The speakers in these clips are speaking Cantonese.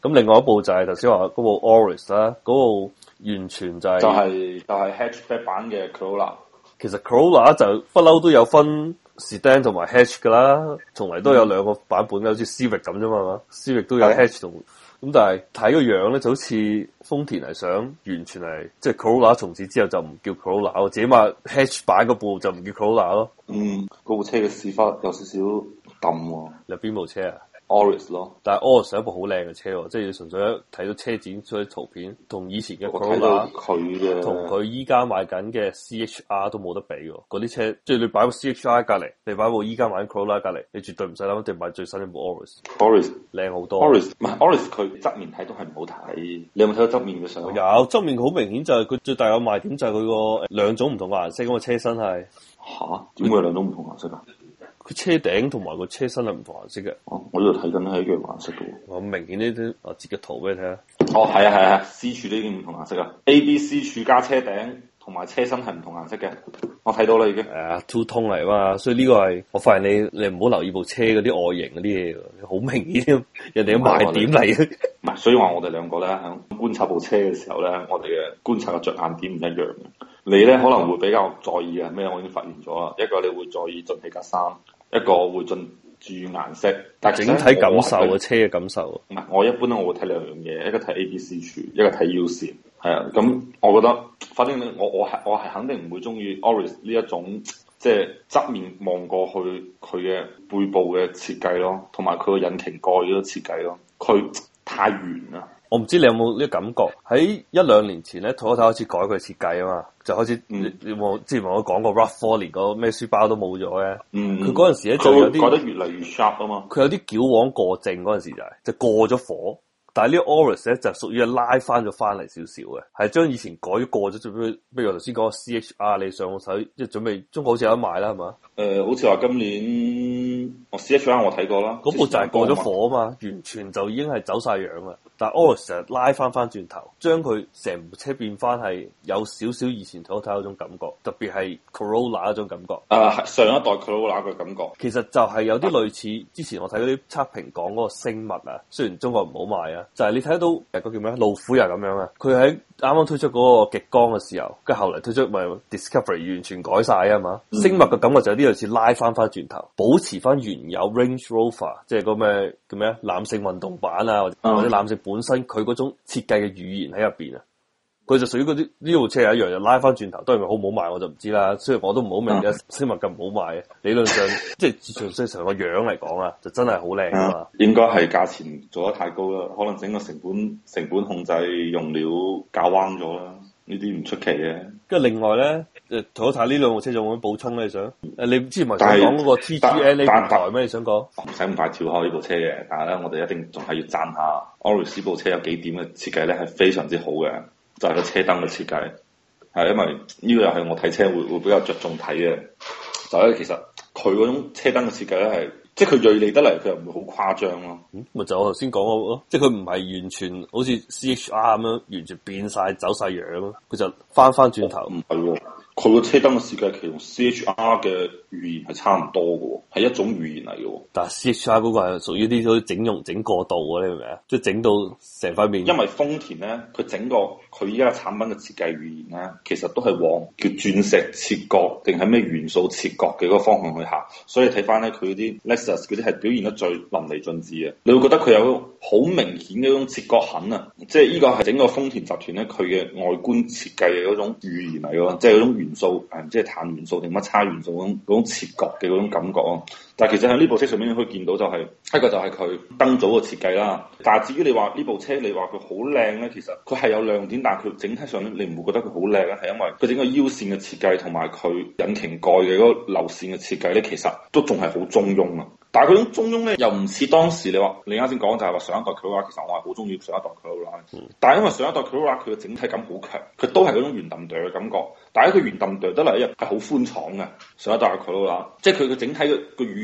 咁另外一部就係頭先話嗰部 Auris 啦，嗰部完全就係 hatchback 版嘅 Corolla。 其實 Corolla 就不嬲都有分 Sedan 同埋 Hatch 噶啦，從嚟都有兩個版本嘅，好似 Civic 咁啫嘛，Civic 都有 Hatch 同咁，但係睇個樣咧就好似豐田係想完全係即係 Corolla 從此之後就唔叫 Corolla，我自己話 Hatch 版嗰部就唔叫 Corolla 咯。 嗰部車嘅屎忽有少少揼喎。 有邊部車啊？ Auris 咯， 但係 Auris 係一部好靚嘅車喎，即係你純粹一睇到車展出啲圖片，同以前嘅 Corolla 同佢依家賣緊嘅 CHR 都冇得比喎。嗰啲車即係你擺部 CHR 隔離，你擺部依家買緊 Corolla 隔離，你絕對唔使諗一定買最新一部 Auris。 Auris 靚好多。 Auris 唔係 Auris，佢側面睇都係唔好睇。你有冇睇到側面嘅相？ 有側面好明顯就係佢最大嘅賣點就係佢個兩種唔同嘅顏色咁嘅車身係。 嚇？點會有兩種唔同顏色啊？ 佢車頂同埋個車身係唔同顏色嘅。 我呢度睇緊係一樣顏色嘅喎。 我明顯呢啲，我截個圖俾你睇下。 係 C 柱都已經唔同顏色啦。A、B、C 柱加車頂同埋車身係唔同顏色嘅。我睇到啦已經。 two tone 嚟嘛，所以呢個係我發現你唔好留意部車嗰啲外形嗰啲嘢，好明顯人哋嘅賣點嚟嘅。 唔係，所以話我哋兩個咧喺觀察部車嘅時候咧，我哋嘅觀察嘅着眼點唔一樣嘅。你咧可能會比較在意嘅咩？我已經發現咗啦。一個你會在意進氣格柵，一個會注意顏色。但係整體感受嘅車嘅感受。 唔係，我一般咧我會睇兩樣嘢，一個睇 A、B、C 柱，一個睇 U 線。係啊，咁我覺得，反正我係肯定唔會中意 Auris 呢一種即係側面望過去佢嘅背部嘅設計咯，同埋佢個引擎蓋嗰個設計咯，佢太圓啦。 我唔知你有冇呢個感覺？喺一兩年前咧，Toyota開始改佢設計啊嘛，就開始你我之前我講過 RAV4 連個咩書包都冇咗嘅。佢嗰陣時咧就有啲改得越嚟越 sharp 啊嘛。 佢有啲矯枉過正嗰陣時就過咗火。但係呢個 Auris 咧就屬於係拉翻咗翻嚟少少嘅，係將以前改咗過咗，做咩？比如我頭先講個 CHR，你上手即係準備中國好似有得賣啦，係嘛？ 好似話今年CHR 我睇過啦， 嗰部就係過咗火啊嘛，完全就已經係走晒樣啦。但係 Auris 成日拉翻轉頭，將佢成部車變翻係有少少以前睇嗰種感覺，特別係 Corolla 嗰種感覺。 上一代 Corolla 嘅感覺， 其實就係有啲類似之前我睇嗰啲測評講嗰個星物啊，雖然中國唔好賣啊。就係你睇到個叫咩路虎又咁樣啊，佢喺啱啱推出嗰個極光嘅時候，跟住後嚟推出咪 Discovery 完全改晒啊嘛，星脈嘅感覺就有啲類似拉翻轉頭，保持翻原有 Range Rover， 即係個咩叫咩攬勝運動版啊，或者攬勝本身佢嗰種設計嘅語言喺入邊啊。佢就屬於嗰啲呢部車係一樣，就拉翻轉頭，當然好唔好賣我就唔知啦。雖然我都唔好明嘅，星脈咁唔好賣，理論上即係純粹成個樣嚟講啊，就真係好靚啊嘛。 應該係價錢做得太高啦，可能整個成本控制用料搞彎咗啦，呢啲唔出奇嘅。 跟住另外咧，Toyota呢兩部車仲有冇補充咧？你想？你之前咪想講嗰個 TGNA 平台咩？你想講？ 唔使咁快跳開呢部車嘅，但係咧，我哋一定仲係要讚下 Auris 部車有幾點嘅設計咧，係非常之好嘅。就係個車燈嘅設計，係因為呢個又係我睇車會比較着重睇嘅。就係其實佢嗰種車燈嘅設計咧係，即係佢銳利得嚟，佢又唔會好誇張咯。 咪就我頭先講嗰個咯，即係佢唔係完全好似 CHR 咁樣完全變晒走晒樣咯，佢就翻轉頭。 唔係喎，佢個車燈嘅設計其實同 CHR 嘅語言係差唔多嘅喎，係一種語言嚟嘅喎。 但係 CHR 嗰個係屬於啲嗰啲整容整過度嘅，你明唔明啊？即係整到成塊面。 因為豐田咧，佢整個佢依家產品嘅設計語言咧，其實都係往叫鑽石切割定係咩元素切割嘅嗰個方向去行。所以睇翻咧，佢啲 Lexus 嗰啲係表現得最淋漓盡致嘅。你會覺得佢有好明顯嘅嗰種切割痕啊！即係呢個係整個豐田集團咧，佢嘅外觀設計嘅嗰種語言嚟嘅，即係嗰種元素唔知係碳元素定乜叉元素嗰種切割嘅嗰種感覺啊！但係其實喺呢部車上面你可以見到就係一個就係佢燈組嘅設計啦。但係至於你話呢部車你話佢好靚咧，其實佢係有亮點，但係佢整體上咧你唔會覺得佢好靚咧，係因為佢整個腰線嘅設計同埋佢引擎蓋嘅嗰個流線嘅設計咧，其實都仲係好中庸啊。但係佢種中庸咧，又唔似當時你話你啱先講就係話上一代 Corolla，其實我係好中意上一代 Corolla。但係因為上一代 Corolla 佢嘅整體感好強，佢都係嗰種圓揼哚嘅感覺。但係佢圓揼哚得嚟一日係好寬敞嘅上一代 Corolla，即係佢嘅整體嘅語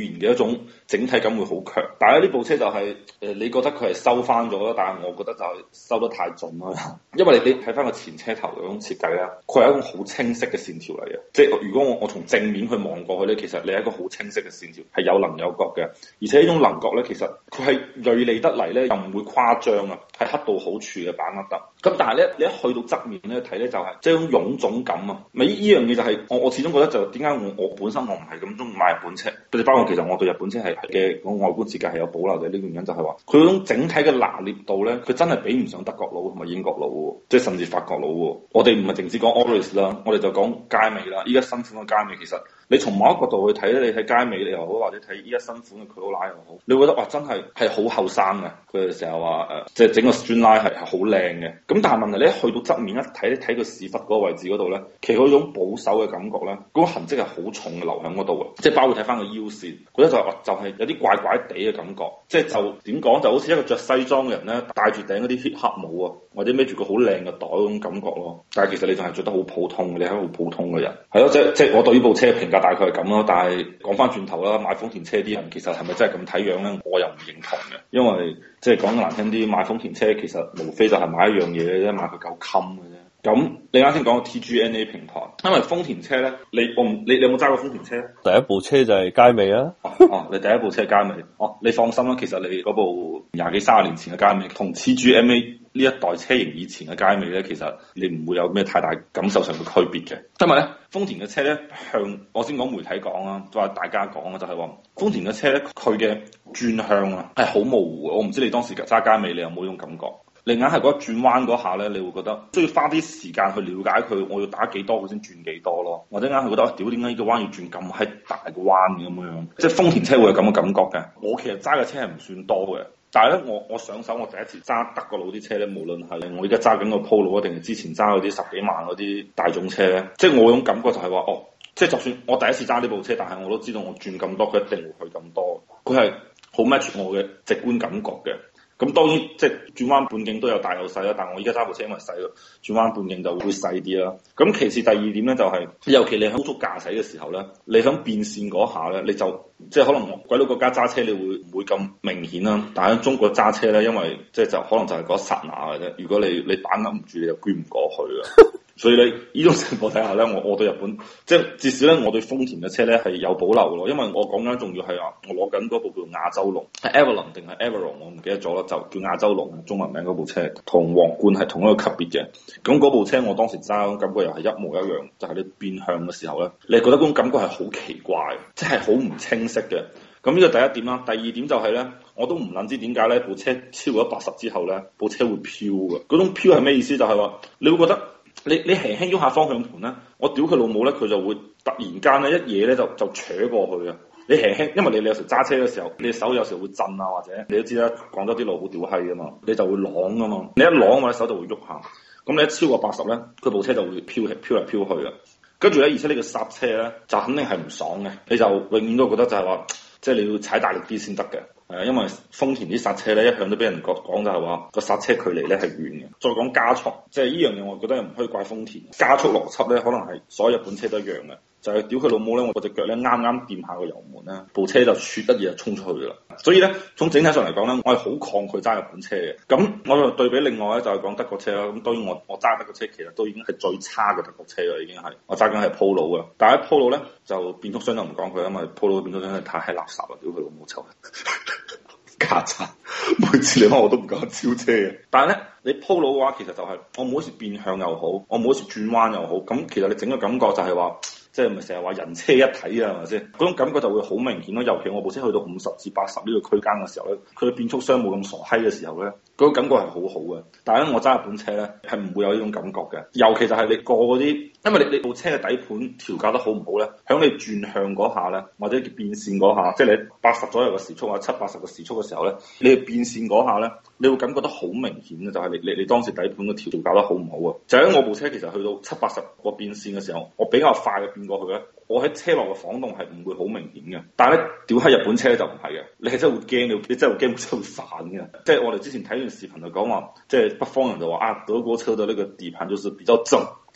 言嘅一種整體感會好強。但係呢部車就係、你覺得佢係收翻咗啦，但係我覺得就係收得太盡啦。因為你睇翻個前車頭嗰種設計咧，佢係一種好清晰嘅線條嚟嘅。即係如果我從正面去望過去咧，其實你係一個好清晰嘅線條，係有稜有角嘅。而且呢種稜角咧，其實佢係銳利得嚟咧，又唔會誇張啊，係恰到好處嘅把握得。咁但係咧，你一去到側面咧睇咧，就係即係一種臃腫感啊！咪呢樣嘢就係我始終覺得就點解我本身我唔係咁中意買日本車，包括其實我對日本車係嘅個外觀設計係有保留嘅。呢個原因就係話佢嗰種整體嘅拿捏度咧，佢真係比唔上德國佬同埋英國佬喎，即係甚至法國佬喎。我哋唔係淨止講 Auris 啦，我哋就講佳美啦。依家新款嘅佳美其實你從某一個角度去睇咧，你睇佳美你又好，或者睇依家新款嘅 Corolla 又好，你會覺得哇真係好後生嘅。佢哋成日話即係整個 Streamline 係好靚嘅。咁但係問題你一去到側面一睇，你睇個屎忽嗰個位置嗰度咧，其實嗰種保守嘅感覺咧，嗰個痕跡係好重嘅留喺嗰度嘅，即係包括睇翻個腰線，覺得就係有啲怪怪地嘅感覺，即係就點講就好似一個着西裝嘅人咧，戴住頂嗰啲黑帽啊，或者孭住個好靚嘅袋嗰種感覺咯。但係其實你仲係着得好普通嘅，你係一個好普通嘅人，係咯，即係我對呢部車嘅評價大概係咁咯。但係講翻轉頭啦，買豐田車啲人其實係咪真係咁睇樣咧？我又唔認同嘅，因為即係講得難聽啲，買豐田車其實無非就係買一樣嘢嘅啫，買佢夠襟嘅啫。咁你啱先講個 TGNA 平台，因為豐田車咧，你有冇揸過豐田車？ 第一部車就係佳美啊！ 你第一部車係佳美，你放心啦，其實你嗰部20幾30年前嘅佳美，同 TGMA 呢一代車型以前嘅佳美咧，其實你唔會有咩太大感受上嘅區別嘅。因為咧，豐田嘅車咧，向我先講媒體講啦，都係大家講啦，就係話豐田嘅車咧，佢嘅轉向啊係好模糊嘅。我唔知你當時揸佳美，你有冇呢種感覺？你硬係覺得轉彎嗰下咧，你會覺得需要花啲時間去了解佢，我要打幾多佢先轉幾多咯，或者硬係覺得屌點解呢個彎要轉咁閪大個彎咁樣？即係豐田車會有咁嘅感覺嘅。我其實揸嘅車係唔算多嘅，但係咧我上手我第一次揸德國佬啲車咧，無論係我而家揸緊個 Polo 定係之前揸嗰啲10幾萬嗰啲大眾車咧，即係我種感覺就係話即係就算我第一次揸呢部車，但係我都知道我轉咁多，佢一定會去咁多，佢係好 match 我嘅直觀感覺嘅。咁當然即係轉彎半徑都有大有細啦，但係我而家揸部車因為細咯，轉彎半徑就會細啲啦。咁其次第二點咧就係，尤其你喺高速駕駛嘅時候咧，你喺變線嗰下咧，你就即係可能鬼佬國家揸車你會唔會咁明顯啦？但係喺中國揸車咧，因為即係就可能就係嗰一剎那嘅啫。如果你把握唔住，你就捐唔過去啦。所以咧，呢種情況底下咧，我對日本即係至少咧，我對豐田嘅車咧係有保留咯。因為我講緊仲要係話，我攞緊嗰部叫亞洲龍，係 Avalon 定係 Avalon，我唔記得咗啦，就叫亞洲龍，中文名嗰部車，同皇冠係同一個級別嘅。咁嗰部車我當時揸感覺又係一模一樣，就係你變向嘅時候咧，你覺得嗰種感覺係好奇怪，即係好唔清晰嘅。咁呢個第一點啦，第二點就係咧，我都唔諗知點解咧，部車超過180之後咧，部車會飄嘅。嗰種飄係咩意思？就係話你會覺得。你輕輕喐下方向盤咧，我屌佢老母咧，佢就會突然間咧一嘢咧就扯過去啊！你輕輕，因為你有時揸車嘅時候，你手有時會震啊，或者你都知啦，廣州啲路好屌閪噶嘛，你就會啷噶嘛，你一啷我隻手就會喐下，咁你一超過80咧，佢部車就會飄嚟飄去啊！跟住咧，而且呢個剎車咧就肯定係唔爽嘅，你就永遠都覺得就係話，即係你要踩大力啲先得嘅。因為豐田啲剎車咧一向都俾人講就係話個剎車距離咧係遠嘅。再講加速，即係呢樣嘢，我覺得又唔可以怪豐田。加速邏輯咧，可能係所有日本車都一樣嘅，就係屌佢老母咧，我隻腳咧啱啱掂下個油門咧，部車就啜一嘢就衝出去噶啦。所以咧，從整體上嚟講咧，我係好抗拒揸日本車嘅。咁我就對比另外咧，就係講德國車啦。咁當然我揸德國車其實都已經係最差嘅德國車啦，已經係我揸緊係 Polo 啊。但係 Polo 咧就變速箱就唔講佢，因為 Polo 嘅變速箱係太垃圾啦，屌佢老母臭！曱甴，每次你翻我都唔敢超車嘅。但係咧，你 Polo 嘅話，其實就係我每一次變向又好，我每一次轉彎又好，咁其實你整個感覺就係話，即係咪成日話人車一體啊？係咪先？嗰種感覺就會好明顯咯。尤其我部車去到50至80呢個區間嘅時候咧，佢嘅變速箱冇咁傻閪嘅時候咧，嗰種感覺係好好嘅。但係咧，我揸日本車咧係唔會有呢種感覺嘅。尤其就係你過嗰啲，因為你部車嘅底盤調校得好唔好咧，響你轉向嗰下咧，或者變線嗰下，即係你80左右嘅時速啊，70-80嘅時速嘅時候咧，你變線嗰下咧，你會感覺得好明顯嘅，就係你當時底盤嘅調校得好唔好啊？就喺我部車其實去到70-80個變線嘅時候，我比較快嘅變過去咧，我喺車內嘅晃動係唔會好明顯嘅。但係咧，屌喺日本車就唔係嘅，你係真係會驚，你真係會驚部車會散嘅。即係我哋之前睇完視頻就講話，即係北方人就話啊，德國車嘅呢個底盤就是比較正。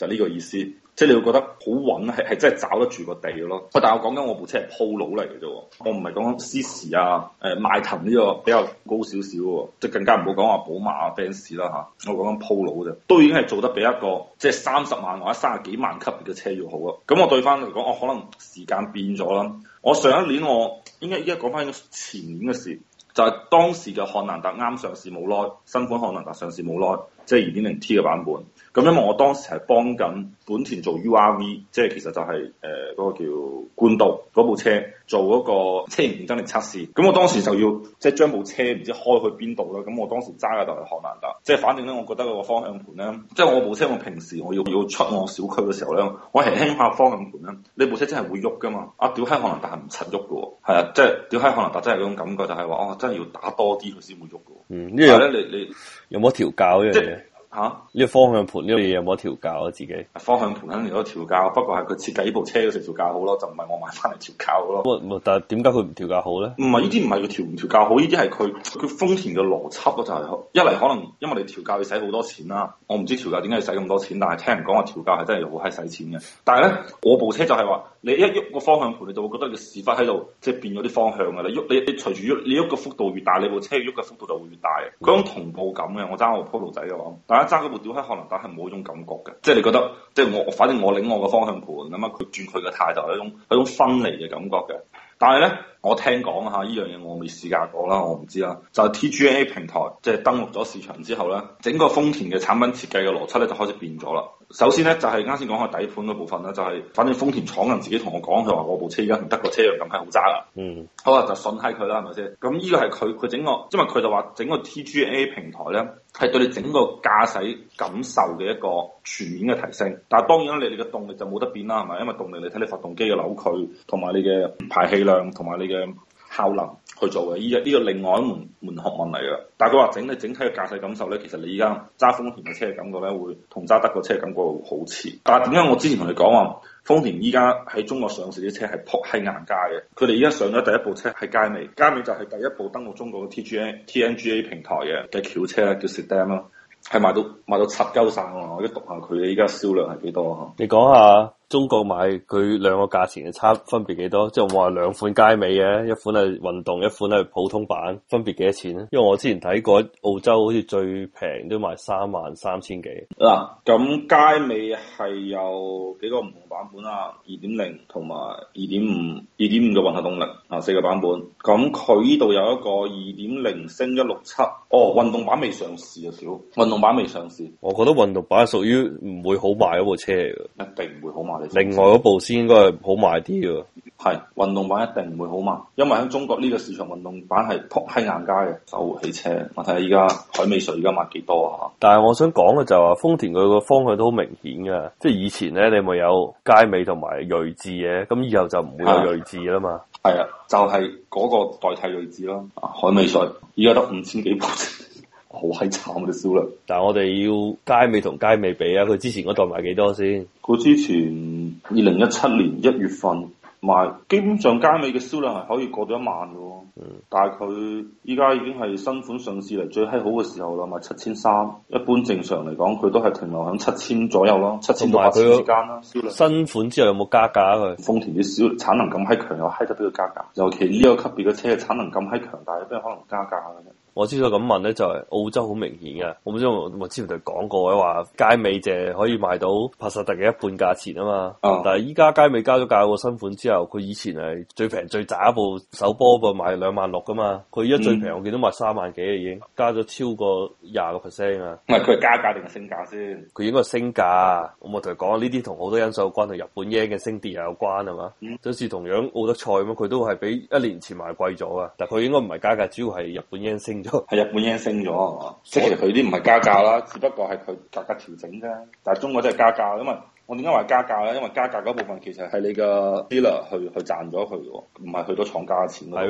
就呢個意思。即係你會覺得好穩，係真係找得住個地嘅咯。但係我講緊我部車係 Polo 嚟嘅啫，我唔係講緊 CC 啊、邁騰呢個比較高少少嘅，即係更加唔好講話寶馬啊、Benz 啦嚇。我講緊 Polo 啫，都已經係做得比一個即係30萬或者30幾萬級別嘅車要好啦。咁我對翻嚟講，我可能時間變咗啦。我上一年我應該依家講翻前年嘅事。就係當時嘅漢蘭達啱上市冇耐，新款漢蘭達上市冇耐，即係 2.0T 嘅版本。咁因為我當時係幫緊本田做 URV，即係其實就係嗰個叫冠道嗰部車做嗰個車型競爭力測試。咁我當時就要即係將部車唔知開去邊度啦。咁我當時揸嘅就係漢蘭達，即係反正咧，我覺得個方向盤咧，即係我部車我平時我要出我小區嘅時候咧，我輕輕下方向盤咧，你部車真係會喐噶嘛？啊屌閪漢蘭達係唔柒喐嘅喎，係啊，即係屌閪漢蘭達真係嗰種感覺就係話哦，真係要打多啲佢先會喐嘅喎。 呢樣咧你有冇調教呢樣嘢？ 嚇！ 呢個方向盤呢個嘢有冇調教啊？自己方向盤肯定有得調教，不過係佢設計呢部車嘅時候調教好咯，就唔係我買翻嚟調教咯。 但係點解佢唔調教好咧？ 唔係呢啲唔係佢調唔調教好，呢啲係佢豐田嘅邏輯咯，就係一嚟可能因為你調教要使好多錢啦，我唔知調教點解要使咁多錢，但係聽人講話調教係真係好閪使錢嘅。但係咧，我部車就係話你一喐個方向盤，你就會覺得你個屎忽喺度即係變咗啲方向㗎啦。你隨住喐，你喐個幅度越大，你部車喐嘅幅度就會越大。嗰種同步感嘅，我揸部 Polo 仔嘅話，大家揸嗰部屌閪可能但係冇嗰種感覺嘅，即係你覺得，即係反正我領我個方向盤咁啊，佢轉佢嘅態度係一種分離嘅感覺嘅。但係咧，我聽講嚇，呢樣嘢我未試駕過啦，我唔知啦。就係 TGA 平台即係登陸咗市場之後咧，整個豐田嘅產品設計嘅邏輯咧就開始變咗啦。首先咧就係啱先講嘅底盤嗰部分咧，就係反正豐田廠人自己同我講，佢話我部車而家同德國車一樣咁係好揸啦。好啊，就信閪佢啦，係咪先？咁呢個係佢整個，因為佢就話整個 TGA 平台咧係對你整個駕駛感受嘅一個全面嘅提升。但係當然啦，你哋嘅動力就冇得變啦，係咪？因為動力你睇你發動機嘅扭矩同埋你嘅排氣量同埋你嘅效能去做嘅，呢個另外一門學問嚟嘅。但係佢話整體嘅駕駛感受咧，其實你而家揸豐田嘅車嘅感覺咧，會同揸德國車嘅感覺會好似。但係點解我之前同你講話豐田依家喺中國上市啲車係撲喺硬價嘅？佢哋而家上咗第一部車係佳美，佳美就係第一部登陸中國嘅 TNGA 平台嘅轎車咧，叫 Sedan 啦，係賣到七鳩晒喎！我而家讀下佢依家銷量係幾多啊？ 你講下中國買佢兩個價錢嘅差分別幾多？即係我話兩款佳美嘅，一款係運動，一款係普通版，分別幾多錢咧？因為我之前睇過澳洲好似最平都賣33000幾。 嗱，咁佳美係有幾個唔同版本啊？2.0同埋2.5嘅混合動力啊，4個版本。咁佢呢度有一個2.0升167，哦，運動版未上市啊，少運動版未上市。 我覺得運動版係屬於唔會好賣嗰部車嚟嘅， 一定唔會好賣。 另外嗰部先應該係好賣啲嘅。 係運動版一定唔會好賣，因為喺中國呢個市場運動版係撲喺硬街嘅手活汽車。我睇下依家海美瑞而家賣幾多啊？ 但係我想講嘅就係話豐田佢個方向都好明顯嘅，即係以前咧你咪有佳美同埋銳志嘅，咁以後就唔會有銳志啦嘛。 係啊，就係嗰個代替銳志咯。海美瑞依家得5000幾部，好閪慘嘅銷量。 但係我哋要佳美同佳美比啊，佢之前嗰代賣幾多先？ 佢之前2017年1月份賣，基本上佳美嘅銷量係可以過到1萬嘅喎。但係佢依家已經係新款上市嚟最閪好嘅時候啦，賣7300。一般正常嚟講，佢都係停留喺7000左右咯，7000到8000之間啦。銷量新款之後有冇加價佢？ 豐田啲產能咁閪強，又閪得俾佢加價。尤其呢個級別嘅車嘅產能咁閪強大，有邊可能加價嘅啫？ 我之所以咁問咧，就係澳洲好明顯嘅。我唔知我之前同你講過嘅話，佳美淨可以賣到帕薩特嘅一半價錢啊嘛。但係依家佳美加咗價個新款之後，佢以前係最平最渣一部手波部賣26000噶嘛。佢而家最平我見到賣3萬幾已經加咗超過20%啊。 唔係佢係加價定係升價先？ 佢應該係升價。我同佢講呢啲同好多因素有關，同日本 yen 嘅升跌又有關係嘛。就好似同樣奧德賽咁，佢都係比1年前賣貴咗啊。但係佢應該唔係加價，主要係日本 yen 升。 係日本 yen 升咗係嘛？即係其實佢啲唔係加價啦，只不過係佢價格調整啫。但係中國真係加價，因為我點解話加價咧？因為加價嗰部分其實係你個 dealer 去賺咗佢嘅，唔係去到廠家嘅錢咯。 係咩？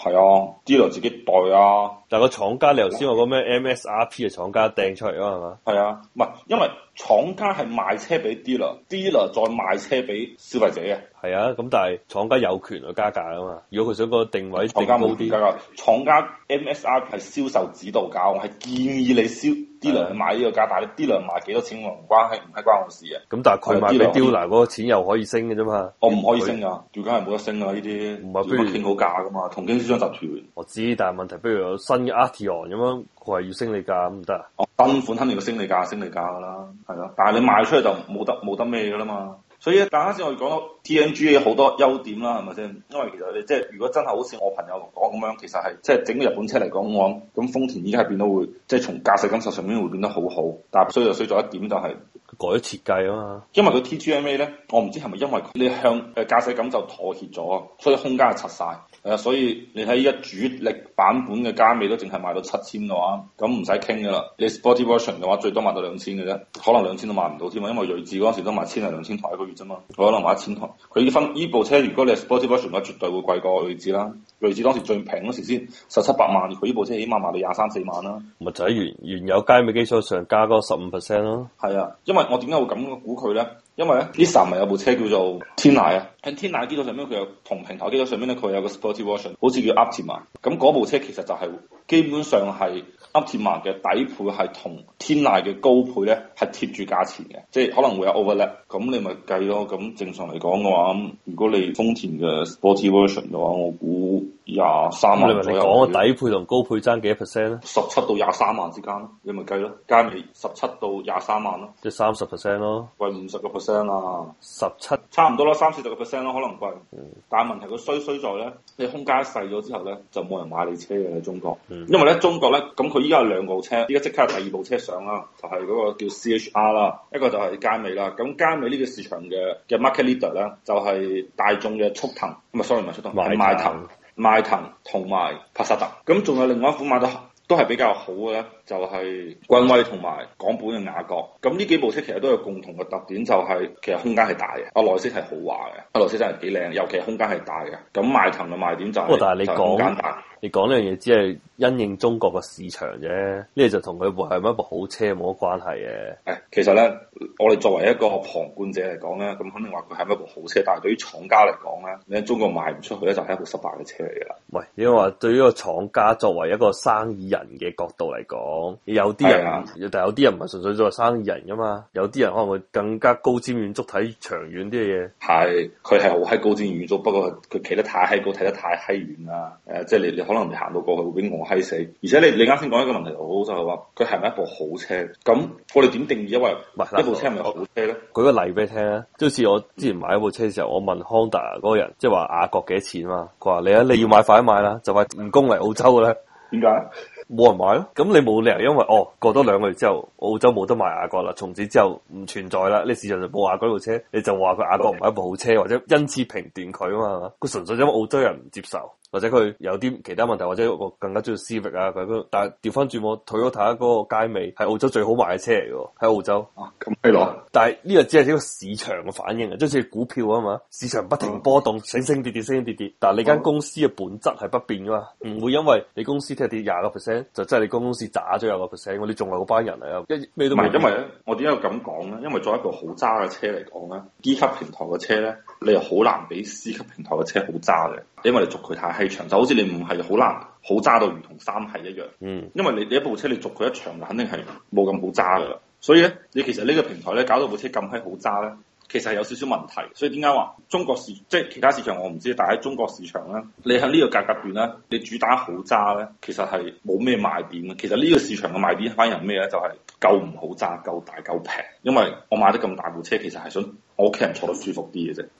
係啊，dealer 自己代啊。 但係個廠家，你頭先話嗰咩 MSRP 嘅廠家掟出嚟啊嘛？ 係啊，唔係因為廠家係賣車俾 dealer，dealer 再賣車俾消費者嘅。 係啊，咁但係廠家有權去加價啊嘛。如果佢想個定位定高啲， 廠家 MSRP 係銷售指導價，我係建議你dealer 去買呢個價，但係你 dealer 賣幾多錢我唔關係，唔係關我事嘅。 咁但係佢賣俾 dealer 嗰個錢又可以升嘅啫嘛。 我唔可以升噶，條價係冇得升噶呢啲， 唔係不如傾好價噶嘛，同經銷商集團。 我知，但係問題，不如有新嘅 Arteon 咁樣，佢係要升你價咁唔得啊？ 新款肯定要升你價噶啦，係咯。但係你賣出去就冇得咩噶啦嘛。所以啱先我哋講到 TNGA 好多優點啦，係咪先？因為其實你即係如果真係好似我朋友講咁樣，其實係即係整個日本車嚟講，我諗咁豐田依家係變到會即係從駕駛感受上面會變得好好，但係衰就衰咗一點就係改咗設計啊嘛。 因為佢 TGMA 咧，我唔知係咪因為你向駕駛感受妥協咗啊，所以空間係拆晒。所以你睇依家主力版本嘅加美都淨係賣到7000嘅話，咁唔使傾噶啦。你 Sporty Version 嘅話，最多賣到2000嘅啫，可能2000都賣唔到添啊，因為睿智嗰陣時都賣1000-2000台一個月啫嘛，佢可能賣1000台。佢分依部車，如果你係 Sporty Version 嘅話，絕對會貴過睿智啦。睿智當時最平嗰時先17-18萬，佢依部車起碼賣到23-24萬啦。 咪就喺原有加美基礎上加嗰15%咯。 係啊，因為我點解會咁估佢咧？因為咧，Nissan 咪有部車叫做天籟啊，喺天籟基礎上面佢有同平台基礎上面咧，佢有個 Sporty Version，好似叫 Optima。咁嗰部車其實就係基本上係 Optima 嘅底配係同天籟嘅高配咧係貼住價錢嘅，即係可能會有 overlap。咁你咪計咯。咁正常嚟講嘅話，如果你豐田嘅 Sporty Version 嘅話，我估23萬左右。 你講個底配同高配爭幾多 percent 咧 ？17到23萬之間咯，你咪計咯。加美17到23萬咯， 即係30% 咯， 貴50%啊 ，17 差唔多啦，30-40%咯，可能貴。但係問題佢衰在咧，你空間細咗之後咧，就冇人買你車嘅喺中國。因為咧中國咧，咁佢依家有2部車，依家即刻有第2部車上啦，就係嗰個叫 CHR 啦，一個就係佳美啦。咁佳美呢個市場嘅 market leader 咧，就係大眾嘅速騰，唔係 sorry 唔係速騰，係邁騰同埋帕薩特。咁仲有另外一款買得都係比較好嘅咧，就係君威同埋港本嘅雅閣。咁呢幾部車其實都有共同嘅特點，就係其實空間係大嘅，內飾係豪華嘅，內飾真係幾靚，尤其係空間係大嘅。咁邁騰嘅賣點就係空間大。 你講呢樣嘢只係因應中國嘅市場啫，呢個就同佢係咪一部好車冇乜關係嘅。 其實咧，我哋作為一個旁觀者嚟講咧，咁肯定話佢係咪一部好車，但係對於廠家嚟講咧，你喺中國賣唔出去咧，就係一部失敗嘅車嚟㗎啦。 喂，因為話對於個廠家作為一個生意人嘅角度嚟講，有啲人，但係有啲人唔係純粹作為生意人㗎嘛，有啲人可能會更加高瞻遠矚睇長遠啲嘅嘢。係， 佢係好閪高瞻遠矚，不過佢企得太閪高，睇得太閪遠啦。即係你可能你行到過去會俾我閪死。而且你啱先講一個問題好好，就係話佢係咪一部好車？咁我哋點定義因為一部車係咪好車咧？ 舉個例俾你聽啊，即好似我之前買一部車嘅時候，我問 Honda 嗰個人，即係話雅閣幾多錢嘛？佢話你要買快啲買啦，就快唔供嚟澳洲嘅咧。 點解？ 冇人買咯，咁你冇理由因為過多2個月之後澳洲冇得賣雅閣啦，從此之後唔存在啦，呢市場就冇雅閣呢部車，你就話佢雅閣唔係一部好車，或者因此評斷佢啊嘛？佢純粹因為澳洲人唔接受，或者佢有啲其他問題，或者我更加中意 Civic 啊佢，但係調翻轉我Toyota嗰個佳美係澳洲最好賣嘅車嚟嘅，喺澳洲。 咁係咯， 但係呢個只係一個市場嘅反應啊，即係好似股票啊嘛，市場不停波動，升升跌跌，升升跌跌，但係你間公司嘅本質係不變噶嘛，唔會因為你公司聽日跌20%，就真係你公司渣咗20%，你仲係嗰班人嚟啊，咩都唔係。因為咧， 我點解要咁講咧？因為作為一部好渣嘅車嚟講咧，D 級平台嘅車咧，你又好難比 C 級平台嘅車好渣嘅，因為你續佢太閪長，就好似你唔係好難好渣到如同3系一樣。因為你一部車你續佢一長，肯定係冇咁好渣噶啦。所以咧，你其實呢個平台咧搞到部車咁閪好渣咧，其實係有少少問題。所以點解話中國市即係其他市場我唔知，但係喺中國市場咧，你喺呢個價格段咧，你主打好渣咧，其實係冇咩賣點嘅。其實呢個市場嘅賣點反而係咩咧？就係夠唔好渣，夠大夠平。因為我買得咁大部車，其實係想我屋企人坐得舒服啲嘅啫。